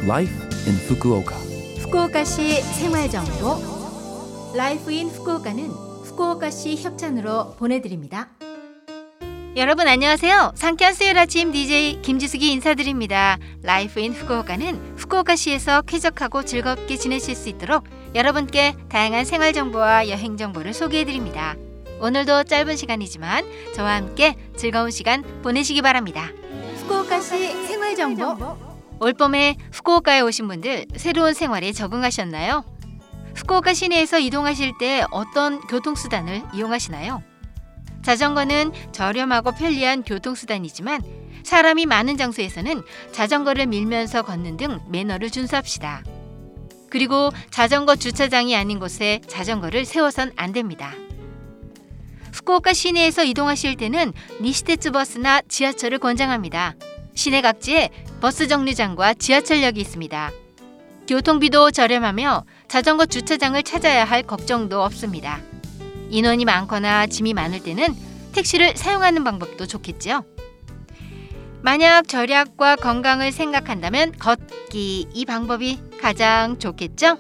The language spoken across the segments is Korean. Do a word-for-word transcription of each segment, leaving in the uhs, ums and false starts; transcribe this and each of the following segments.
Life in Fukuoka. 후쿠오카시 생활정보 라이프 인 후쿠오카는 후쿠오카시 협찬으로 보내드립니다. 여러분 안녕하세요. 상쾌한 수요일 아침 디제이 김지숙이 인사드립니다. 라이프 인 후쿠오카는 후쿠오카시에서 쾌적하고 즐겁게 지내실 수 있도록 여러분께 다양한 생활 정보와 여행 정보를 소개해드립니다. 오늘도 짧은 시간이지만 저와 함께 즐거운 시간 보내시기 바랍니다. 후쿠오카시 생활정보. 올봄에 후쿠오카에 오신 분들 새로운 생활에 적응하셨나요? 후쿠오카 시내에서 이동하실 때 어떤 교통수단을 이용하시나요? 자전거는 저렴하고 편리한 교통수단이지만 사람이 많은 장소에서는 자전거를 밀면서 걷는 등 매너를 준수합시다. 그리고 자전거 주차장이 아닌 곳에 자전거를 세워선 안 됩니다. 후쿠오카 시내에서 이동하실 때는 니시테츠 버스나 지하철을 권장합니다. 시내 각지에 버스 정류장과 지하철역이 있습니다. 교통비도 저렴하며 자전거 주차장을 찾아야 할 걱정도 없습니다. 인원이 많거나 짐이 많을 때는 택시를 사용하는 방법도 좋겠죠. 만약 절약과 건강을 생각한다면 걷기, 이 방법이 가장 좋겠죠.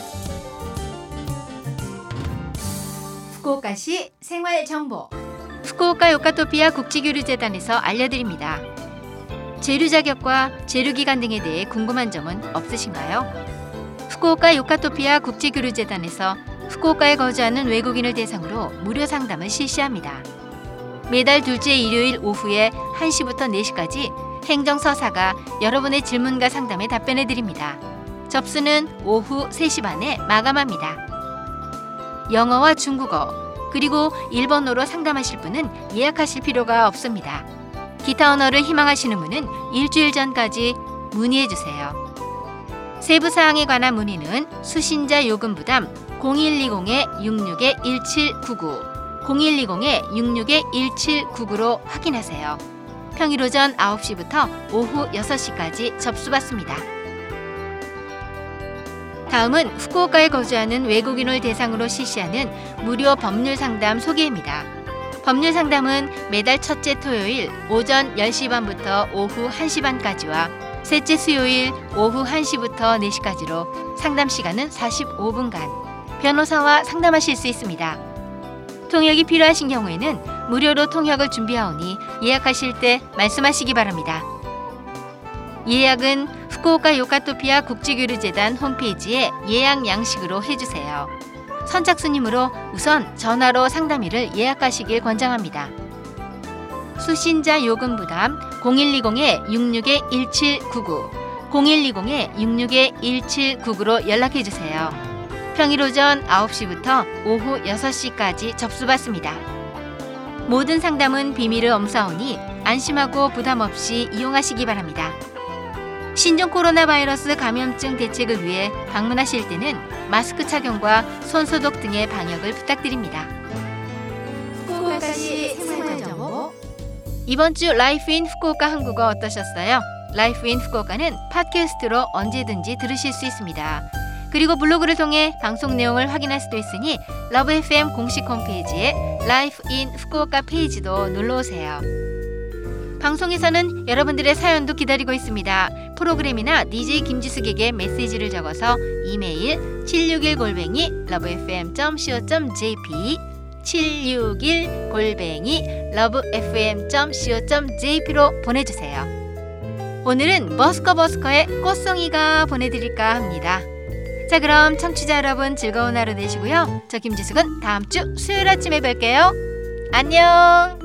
후쿠오카시 생활정보. 후쿠오카 요카토피아 국제교류재단에서 알려드립니다. 재류 자격과 재류 기간 등에 대해 궁금한 점은 없으신가요? 후쿠오카 요카토피아 국제교류재단에서 후쿠오카에 거주하는 외국인을 대상으로 무료 상담을 실시합니다. 매달 둘째 일요일 오후에 한 시부터 네 시까지 행정서사가 여러분의 질문과 상담에 답변해 드립니다. 접수는 오후 세 시 반에 마감합니다. 영어와 중국어, 그리고 일본어로 상담하실 분은 예약하실 필요가 없습니다. 기타 언어를 희망하시는 분은 일주일 전까지 문의해 주세요. 세부 사항에 관한 문의는 수신자 요금 부담 공일이공 육육 일칠구구 공일이공 육육 일칠구구로 확인하세요. 평일 오전 아홉 시부터 오후 여섯 시까지 접수받습니다. 다음은 후쿠오카에 거주하는 외국인을 대상으로 실시하는 무료 법률 상담 소개입니다. 법률 상담은 매달 첫째 토요일 오전 열 시 반부터 오후 한 시 반까지와 셋째 수요일 오후 한 시부터 네 시까지로 상담 시간은 사십오 분간 변호사와 상담하실 수 있습니다. 통역이 필요하신 경우에는 무료로 통역을 준비하오니 예약하실 때 말씀하시기 바랍니다. 예약은 후쿠오카 요카토피아 국제교류재단 홈페이지에 예약 양식으로 해주세요. 선착순이므로 우선 전화로 상담일을 예약하시길 권장합니다. 수신자 요금 부담 공일이공 육육 일칠구구 공일이공 육육 일칠구구로 연락해주세요. 평일 오전 아홉 시부터 오후 여섯 시까지 접수받습니다. 모든 상담은 비밀을 엄사오니 안심하고 부담 없이 이용하시기 바랍니다. 신종 코로나 바이러스 감염증 대책을 위해 방문하실 때는 마스크 착용과 손소독 등의 방역을 부탁드립니다. 후쿠오카시 생활정보. 이번 주 라이프 인 후쿠오카 한국어 어떠셨어요? 라이프 인 후쿠오카는 팟캐스트로 언제든지 들으실 수 있습니다. 그리고 블로그를 통해 방송 내용을 확인할 수도 있으니 러브 에프엠 공식 홈페이지에 라이프 인 후쿠오카 페이지도 눌러오세요. 방송에서는 여러분들의 사연도 기다리고 있습니다. 프로그램이나 디제이 김지숙에게 메시지를 적어서 이메일 칠육일 골뱅이 러브에프엠 닷 씨오 닷 제이피 칠육일 골뱅이 러브에프엠 닷 씨오 닷 제이피로 보내주세요. 오늘은 버스커버스커의 꽃송이가 보내드릴까 합니다. 자, 그럼 청취자 여러분 즐거운 하루 되시고요. 저 김지숙은 다음 주 수요일 아침에 뵐게요. 안녕.